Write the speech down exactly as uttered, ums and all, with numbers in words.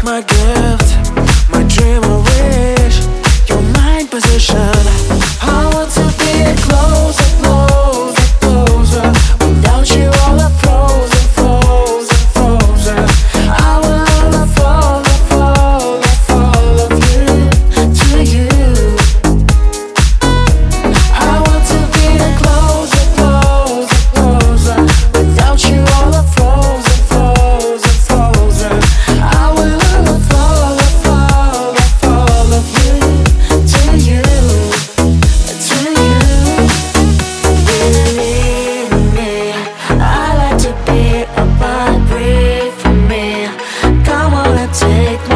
my gift, my dream or wish, your mind position. I want to be closer, closer, closer. Without you all are frozen, frozen, frozen. I will fall, fall, fall of you to you. I want to be closer, closer, closer. Without you all are frozen, frozen, frozen. I will fall, fall, fall of you to you, to you. Believe me, I like to be up, breathe for me. Come on and take